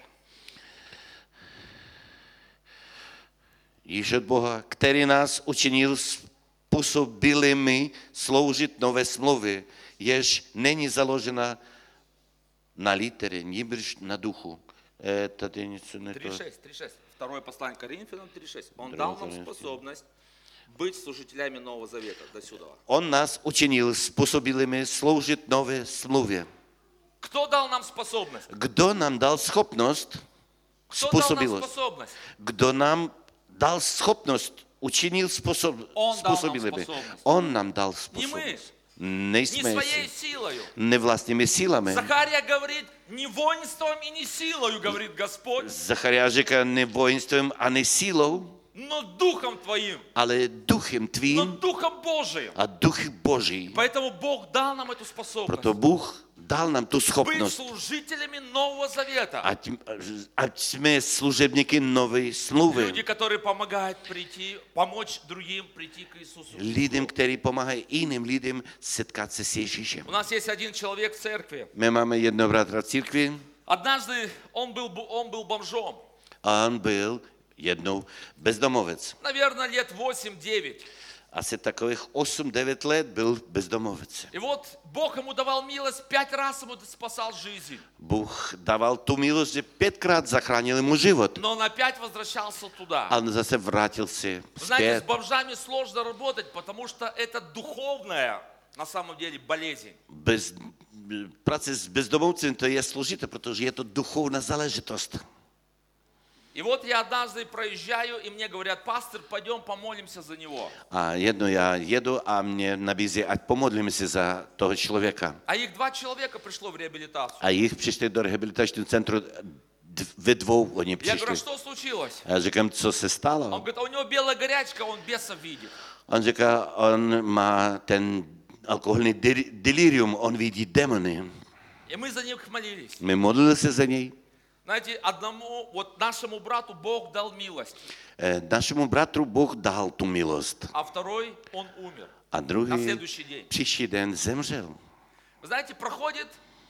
již od Boha, který nás učinil způsobilými sloužit nové smlouvy, jež není založena na liteře, nýbrž na duchu. Tady něco ne to. 3.6. Второе послание к Коринфянам 3.6. Он дал нам способность быть служителями Нового Завета. До сюда. On nás učinil způsobilými sloužit nové smlouvě. Кто дал нам способность? Kdo nám dal schopnost, Кто дал нам způsobilost? способность? Kdo nám dal schopnost, učinil Он дал нам způsobilými? способность. On nám dal Не мы, způsobilost. не Nejsme своей si, силою. nevlastními sílami. Захария говорит, не воинством и не силою, говорит Господь, Zachariáš říká, ne vojenstvem a ne sílou, но Духом Твоим, ale duchem но tvým Духом Божиим. a duch Boží. Поэтому Бог дал нам эту способность. Proto Bůh dal nám tu Быть schopnost, служителями Нового Завета. ať jsme služebníky nové smlouvy. Люди, которые помогают прийти, помочь другим прийти к Иисусу. Lidem, kteří pomáhají jiným lidem setkat se s Ježíšem. У нас есть один человек в церкви. My máme jednoho bratra v církvi Однажды он был бомжом. a on byl jednou bezdomovec. Наверное, лет 8-9. Asi takových 8-9 let byl bezdomovec. И вот Бог ему давал милость, 5 раз ему спасал жизнь. Bůh dával tu milost, že 5krát zachránil mu život. Но он опять возвращался туда. A on zase vrátil se Знаете, с zpět. бомжами сложно работать, потому что это духовная, на самом деле, болезнь. Práce s bezdomovcem to je složité, protože je to duchovná záležitost. И вот я однажды проезжаю, и мне говорят, пастор, пойдем помолимся за него. A jedno já jedu a mě nabízí, ať pomodlíme se za toho člověka. А их 2 человека пришло в реабилитацию. A jich přišli do rehabilitačního centru, ve dvou oni Я говорю, přišli. а что случилось? A já říkám, co se Он stalo? говорит, а у него белая горячка, он бесов видит. On říká, on má ten alkoholní delirium, on vidí demony. И мы за них молились. My modlili se za něj. Знаете, одному, вот нашему брату Бог дал милость, Našemu bratru Bůh dal tu milost. а второй, он умер A на druhý следующий день. příští den zemřel. Вы знаете, проходит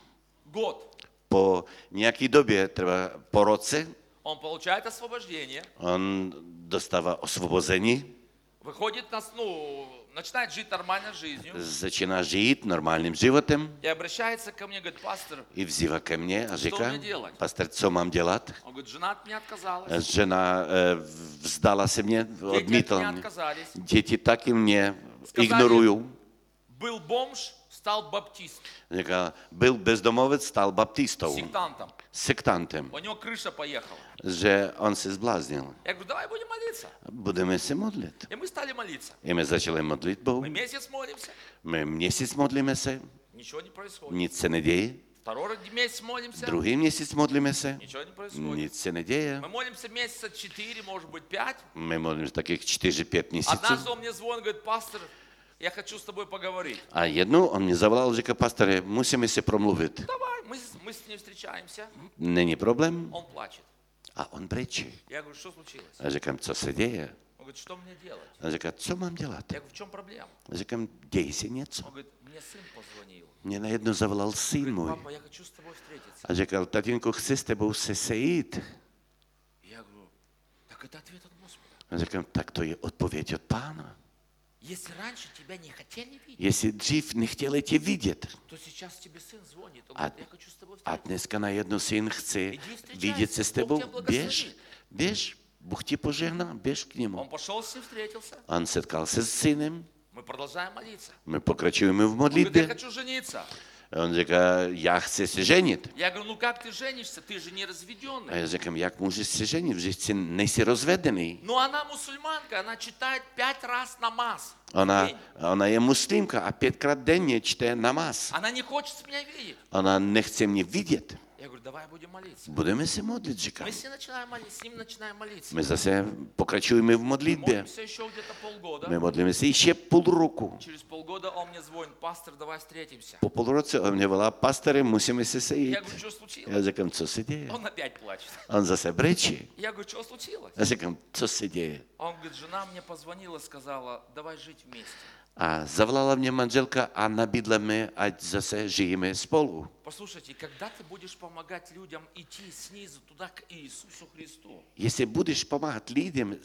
год, Po nějaké době, třeba po roce, он получает освобождение, on dostává osvobození, выходит, начинает жить нормальной жизнью začíná žít normálním životem и обращается ко мне, говорит, пастор, i vzývá ke mně a říká, mě dělat? pastor, co mám dělat? он говорит, жена от меня отказалась, Žena vzdala se mě, дети от odmítla меня mě. отказались. Děti taky mě Сказали, ignorují. был бомж, стал баптист, Říká, byl bezdomovec, stal baptistou, сектантом. sektantem, У него крыша поехала. že on se zbláznil. Я говорю, давай будем молиться. Budeme se modlit. И мы стали молиться. I my začali modlit Bohu. Мы месяц молимся, My měsíc modlíme se, ничего не происходит. nic se neděje. Второй месяц молимся, Druhý měsíc modlíme se, ничего не происходит. nic se neděje. Мы молимся месяца 4, может быть 5. My modlíme takých 4-5 měsíců. Однажды он мне звонит, говорит, пастор, я хочу с тобой поговорить. A jednou on mě zavolal, říká, pastore, musíme se promluvit. Давай, мы с ним встречаемся. Není problém? Он плачет. A on brečí. Я говорю, что случилось? A říkám, co se děje? Он говорит, что мне делать? A říká, co mám dělat? Я говорю, в чем проблема? A říkám, děj si něco. Он говорит, мне сын позвонил. Mě najednou zavolal syn Говорит, můj. папа, я хочу с тобой встретиться. A říkal, tatínku, chci s tebou se sejít. Я говорю, так это ответ от Господа. A říkám, tak to je odpověď od Pána. Если раньше тебя не хотели видеть, Jestli dřív nechtěli tě vidět, то сейчас тебе сын звонит. Он a, говорит, я хочу с тобой a встретиться. dneska najednou syn chce Jdi vstřečaj vidět se, se s Bůh tebou, tě blahosloví. běž, Bůh ti požehná, běž k němu. Он пошел с ним встретился. On setkal se s synem, Мы продолжаем молиться. my pokračujeme v Он говорит, я modlitbě. хочу жениться. On říká, já chci se ženit. Я говорю, ну как ты женишься? Ты же не A разведенный. já říkám, jak můžeš se ženit, že jsi nejsi rozvedený. Но она мусульманка, она читает 5 раз намаз. в Ona, день. ona je muslimka a 5krát denně čte namaz. Она не хочет меня видеть. Ona nechce mě vidět. Я говорю, давай будем молиться. Budeme se modlit, říkám. Мы с ним начинаем молиться, с ним начинаем молиться. My zase pokračujeme v modlitbě. Молимся еще где-то полгода. My modlíme se ještě půl roku. Через полгода он мне звонит, пастор, давай встретимся. Po půl roce on mě volá, pastore, musíme se sejít. Я говорю, что случилось? Já říkám, co se děje? Он опять плачет. On zase brečí. Я говорю, что случилось? Já říkám, co se děje? Он говорит, жена мне позвонила, сказала, давай жить вместе. A zavolala mě manželka a nabídla mi, ať zase žijeme spolu. Послушайте, когда ты будешь помогать людям идти снизу туда к Иисусу Христу, Jestli budeš pomáhat lidem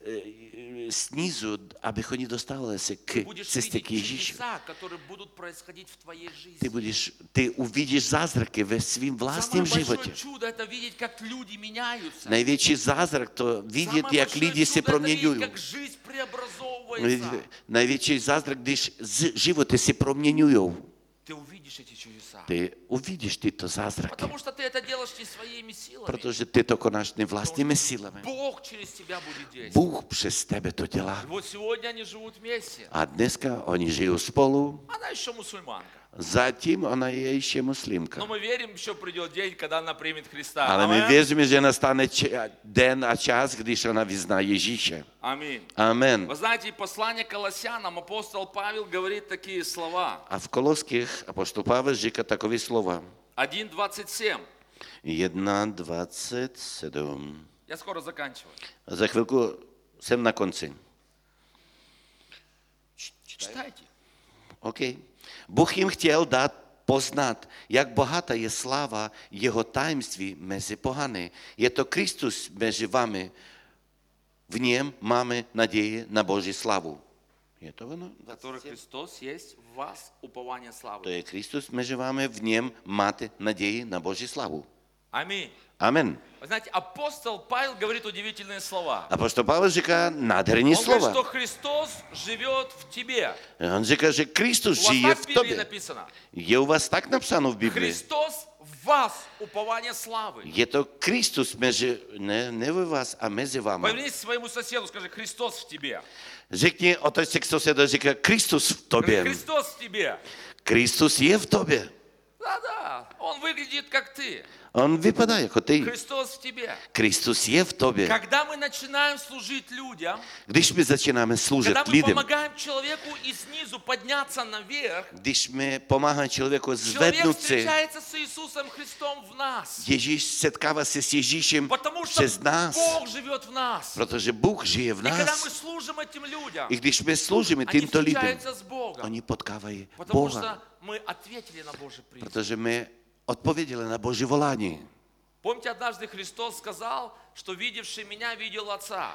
snízu, aby oni dostávali se k будешь cestě видеть k Ježíši, чудеса, которые будут происходить в твоей жизни. ty uvidíš zázraky ve svým Самое vlastním большое životě. чудо – это видеть, как люди меняются. Největší zázrak to vidět, Самое jak большое lidi se чудо – это видеть, proměňují. как жизнь преобразовывается. Největší zázrak, když životy se proměňují. Ты увидишь увидишь эти чудеса. Ty uvidíš tyto zázraky, Потому что ты это делаешь не своими силами. protože ty to konáš nevlastními silami. Бог через тебя будет действовать. Bůh přes tebe to dělá. Вот сегодня они живут вместе. A dneska oni žijou spolu, Она еще мусульманка. zatím ona je ještě muslimka. Но мы верим, еще придет день, когда она примет Христа. Ale my Аминь. věříme, že nastane den a čas, když ona vyzná Ježíše. Аминь. Amen. Вы знаете, послание к Колоссянам апостол Павел говорит такие слова. A v Koloských apostol Pavel říká takové slova. 1:27. 1:27. Я скоро заканчиваю. Za chvilku jsem na konci. Читайте. OK. Bůh jim chtěl dát poznat, jak bohatá je sláva jeho tajemství mezi pohany. Je to Kristus mezi vámi. V něm máme naději na Boží slavu. Je to ono? Который Христос есть в вас, упование To славы. je Kristus mezi vámi, v něm máte naději na Boží slavu. Аминь. Amen. Вы знаете, апостол Павел говорит удивительные слова. Apostol Pavel říká nádherní Он говорит, slova. что Христос живет в тебе. On říká, že Kristus У вас žije так в v Библии tobě. написано. Je u vás tak napsáno v Biblii. Христос в вас, упование славы. Je to Kristus mezi, ne ve vás a mezi vámi. Повернись к своему соседу, скажи, Христос в тебе. Řekni otec k sosedu, říká Kristus v Скажи, tobě. Христос в тебе. Kristus je v tobě. Да-да, он выглядит как ты. On vypadá jako ty. Христос в тебе. Kristus je v tobě. Когда мы начинаем служить людям, Když my začínáme sloužit когда мы lidem, помогаем человеку и снизу подняться наверх, když my pomáháme člověku человек zvednout si, встречается с Иисусом Христом в нас. Ježíš setkává se s Ježíšem Потому что přes nás, Бог живет в нас. protože Bůh žije v И когда nás. мы служим этим людям, I když my sloužíme они tímto lidem, встречаются с Богом. oni potkávají Потому Boha, что мы ответили на Божий призыв. protože my odpověděli na Boží volání. Помните, однажды Христос сказал, что видевший меня видел Отца.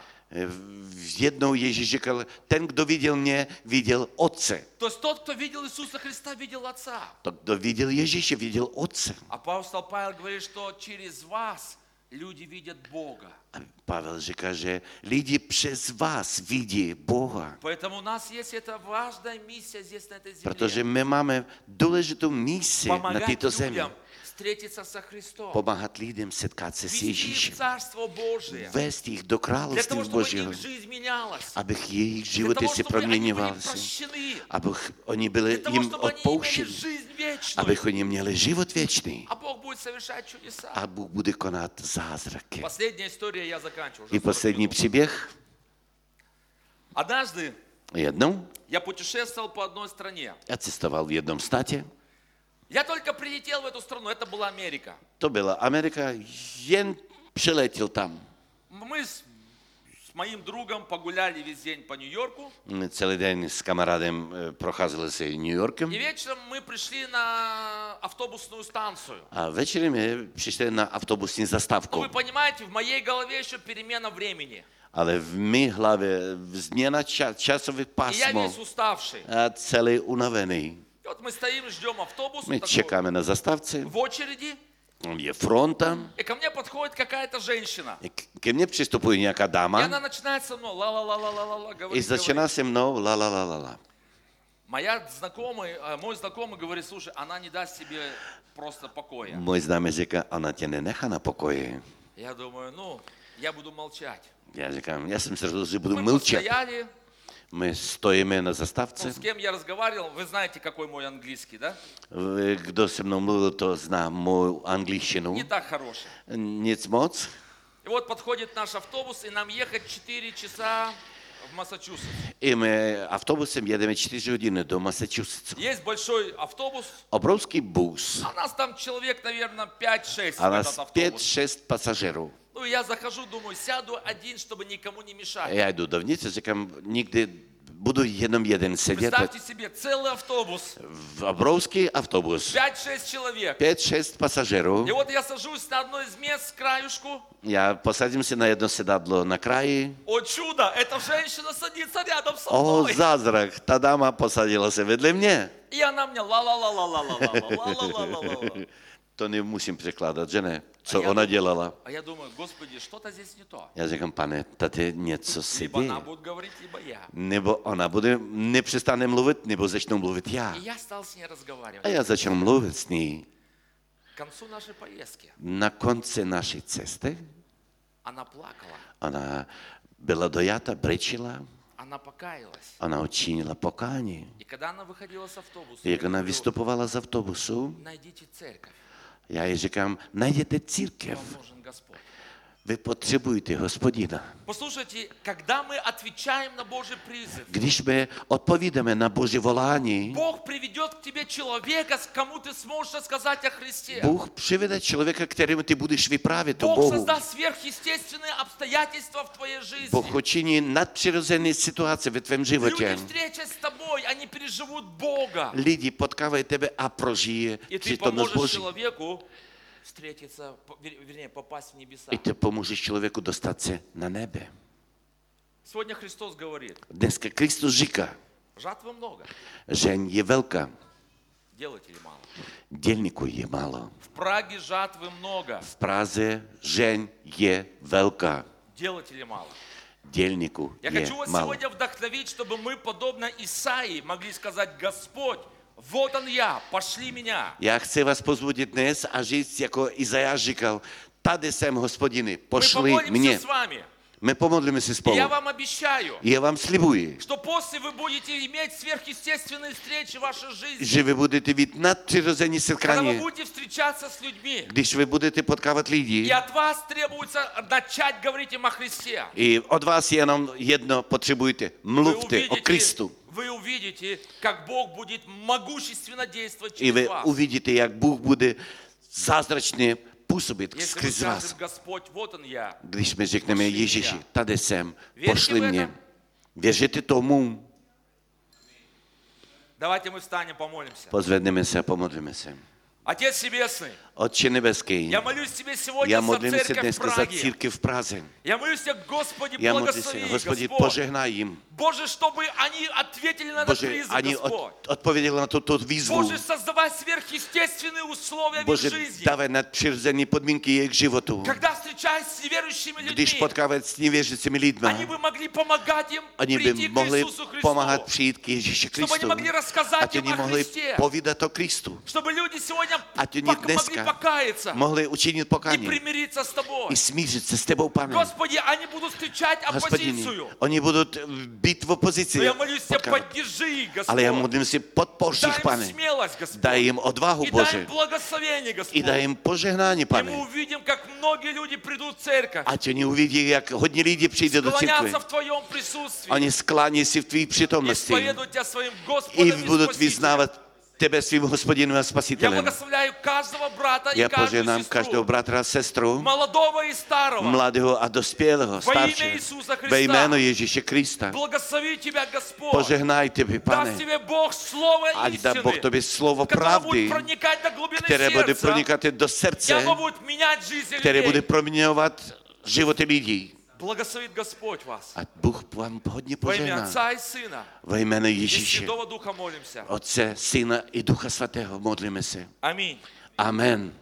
Jednou Ježíš říkal, ten, kdo viděl mě, viděl Otce. То есть тот, кто видел Иисуса Христа, видел Отца. To, kdo viděl Ježíše, viděl Otce. Апостол Павел говорит, что через вас люди видят Бога. A Pavel říká, že lidi přes vás vidí Boha. Поэтому у нас есть эта важная миссия здесь, на этой Protože земле. my máme důležitou misi na Помогать této zemi. людям встретиться со Христом. Pomáhat lidem setkat se s Вести их в Ježíšem. Царство Божие. Vést jich do Для království того, чтобы Božího. их жизнь менялась. Abych jejich Для životy того, si чтобы они были proměňovali. прощены. Abych oni byli Для того, jim чтобы они имели odpouštěni. жизнь вечную. Abych oni měli život věčný. А Бог будет совершать чудеса. A Bůh bude konat zázraky. Последняя история, я заканчиваю. уже I 40 poslední минут. příběh. Однажды Jednou я путешествовал по одной стране. já cestoval v jednom státě. Я только прилетел в эту страну, это была Америка. To byla Amerika, jen přiletěl tam. Мы с моим другом погуляли весь день по Нью-Йорку. Celý den s kamarádem procházeli se New Yorkem. И вечером мы пришли на автобусную станцию. A večer my přišli na autobusní Ну, zastávku. вы понимаете, в моей голове еще перемена времени. Ale v mé hlavě změna časové И я pásmo весь уставший. a celý unavený. И вот мы стоим, ждем автобус My такой, čekáme na zastávce, в очереди, je fronta, и ко мне подходит какая-то женщина. ke mně přistupuje nějaká И она dáma начинает со мной ла-ла-ла-ла-ла-ла i говорить. začíná se mnou la la la la la. Мой знакомый говорит, слушай, она не даст тебе просто покоя. Můj známý říká, ona tě nenechá na pokoji. Я думаю, ну, я буду молчать. Já říkám, já jsem se rozhodl, že budu Мы mlčet. постояли, My stojíme na ну, zastávce. с кем я разговаривал, вы знаете, какой мой английский, да? Kdo se mnou mluvil, to zná mou angličtinu. Не так хороший. Nic moc. И вот подходит наш автобус, и нам ехать 4 часа в Массачусетс. I my autobusem jedeme 4 hodiny do Massachusettsu. Есть большой автобус, Obrovský bus. а нас там человек, наверное, 5-6 A в nás этот автобус. 5-6 pasažerů. Ну, я захожу, думаю, сяду один, чтобы никому не мешать. Já jdu dovnitř a říkám, nikdy budu jenom jeden sedět. Представьте себе, целый автобус, V obrovský autobus. 5-6 человек. 5-6 pasažerů. И вот я сажусь на одно из мест с краюшку. Já posadím se na jedno sedadlo na kraji. О чудо, эта женщина садится рядом со O, мной. zázrak, ta dáma posadila se vedle mě. И она мне ла-ла-ла-ла-ла-ла-ла-ла-ла-ла-ла-ла. To nemusím překládat, že ne? Co já ona думаю- dělala. А я думаю, Господи, что-то здесь не то. Já říkám, pane, tady něco se Либо она děje. будет говорить, либо я. Nebo ona bude, nepřestane mluvit, nebo začnou mluvit já. И я стал с ней разговаривать. A já začal mluvit s ní. К концу нашей поездки Na konci naší cesty она плакала, ona byla dojata, brečila, она покаялась. ona učinila pokání. И когда она выходила с автобуса, Jak я ona говорю, vystupovala z autobusu, найдите церковь, já jí říkám, najděte církev, вам нужен Господь. vy potřebujete Hospodina. Послушайте, когда мы отвечаем на Божий призыв, Když my odpovídáme na Boží volání, Бог приведет к тебе человека, с кому ты сможешь рассказать о Христе. Bůh přivede člověka, kterému ty budeš vyprávět o Бог Bohu. создаст сверхъестественные обстоятельства в твоей жизни. Bůh učiní nadpřirozené situace ve tvém životě. Люди, встречаясь с тобой, они переживут Бога. Lidi potkávají tebe a prožijí И ты přítomnost поможешь Boží. человеку встретиться, вернее, попасть в небеса. I ty pomůžeš člověku dostat se na nebe. Сегодня Христос говорит, Dneska Kristus říká, жатвы много, žeň je velká, делателей мало. dělníků je málo. В Праге жатвы много, V Praze žeň je velká, делателей мало. dělníků Я je хочу вас málo. сегодня вдохновить, чтобы мы, подобно Исаии, могли сказать: Господь, вот он я, пошли меня. Já chci vás pozbudit dnes a říct, jako Izajáš říkal, tady jsem, Hospodiny, Мы pošli помолимся mě. с вами. My pomodlíme se И spolu. я вам обещаю, Já vám slibuji, что после вы будете иметь сверхъестественные встречи в вашей жизни. že vy budete mít nadpřirozené Когда вы setkání, будете встречаться с людьми. když vy budete potkávat lidi. И от вас требуется начать говорить им о Христе. I od vás jenom jedno potřebujete. Mluvte o Kristu. Вы увидите, как Бог будет могущественно действовать I vy через вас. uvidíte, jak Bůh bude zázračně působit Если мы skrz vás. скажем: Господь, вот он я. Když my řekneme Pošli Ježíši, mě. tady jsem, Věříte pošli v mě. этом? Věříte tomu? Давайте мы встанем, помолимся. Pozvedneme se a pomodlíme se. Отец Небесный, Otče nebeský, я молюсь Тебе сегодня já за modlím se церковь в dneska za Праге. církev v Praze. Я молюсь Тебе, Господи, Já modlím se, благослови, Господи, Господь. požehnaj jim. Боже, чтобы они ответили на этот Bože, призыв, ani Господь. odpověděli na tuto výzvu. Боже, создавай сверхъестественные условия в их Bože, жизни. dávej nadpřirozené podmínky jejich životu. Когда встречаясь с неверующими Když людьми, potkávají s nevěřícími lidmi, они бы могли помогать им oni by прийти к mohli Иисусу Христу. pomáhat přijít k Ježíši Чтобы они Kristu. могли рассказать Ať им oni о mohli Христе. povídat o Kristu. Чтобы люди сегодня Ať oni могли dneska покаяться mohli učinit и pokání примириться с Тобой. i smířit se s tebou, pane. Господи, они будут встречать Hospodine, оппозицию. oni budou být v opozici. Но я молюсь Тебе, potkávat. поддержи их, Ale já Господь. modlím si, podpoř Дай jich, им pane. смелость, Господь. Daj jim odvahu, И дай Bože. им благословение, I Господь. daj jim požehnání, И мы pane. увидим, как многие люди придут в церковь. Ať oni uvidí, jak hodně lidí přijde do církve. Склоняться в Твоем присутствии. Oni sklání si v tvý přítomnosti. Исповедуют Тебя своим I Господом и budou Спасителем. vyznávat tebe svým Hospodinem a Я Spasitelem. благословляю каждого брата и Já каждую požehnám každého сестру, bratra a sestru, молодого и старого. mladého a dospělého, Во имя staršího, Иисуса ve jméno Христа. Ježíše Krista. Благослови Тебя, Господь. Požehnaj tebe, Даст pane. Тебе Бог слово Ať dá Boh истины, tobě slovo которое будет pravdy, проникать до глубины které bude сердца, pronikat do и srdce, оно будет менять жизнь které bude людей. proměňovat životy lidí. Благословит Господь вас. A Bůh vám hodně Во имя požehná. Отца и Сына Ve jméno и Ježíše, Святого Духа молимся. Otce, Syna i Ducha Svatého modlíme se. Аминь. Amen.